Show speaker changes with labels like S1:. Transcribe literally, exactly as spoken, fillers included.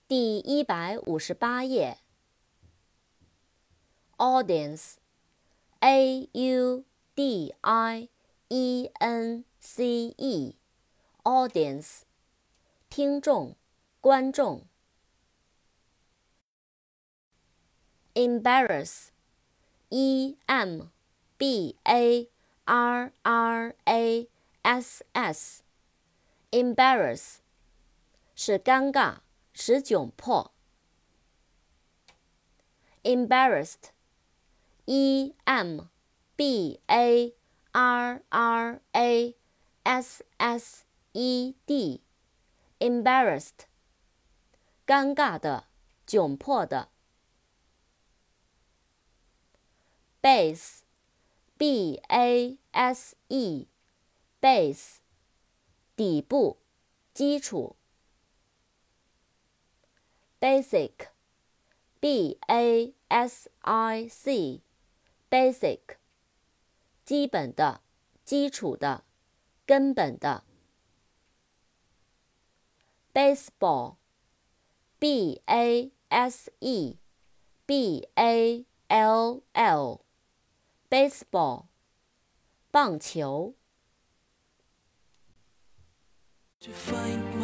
S1: 第一百五十八页。Audience, A U D I E N C E, Audience, 听众、观众。Embarrass, E M B A R R A S S, Embarrass, 使尴尬，使窘迫。Embarrassed, E M B A R R A S S E D, Embarrassed, 尴尬的，窘迫的。Base, B A S E, Base, 底部，基础。Basic, B A S I C, Basic, 基本的，基础的，根本的。Baseball, B A S E B A L L, Baseball, 棒球。
S2: To find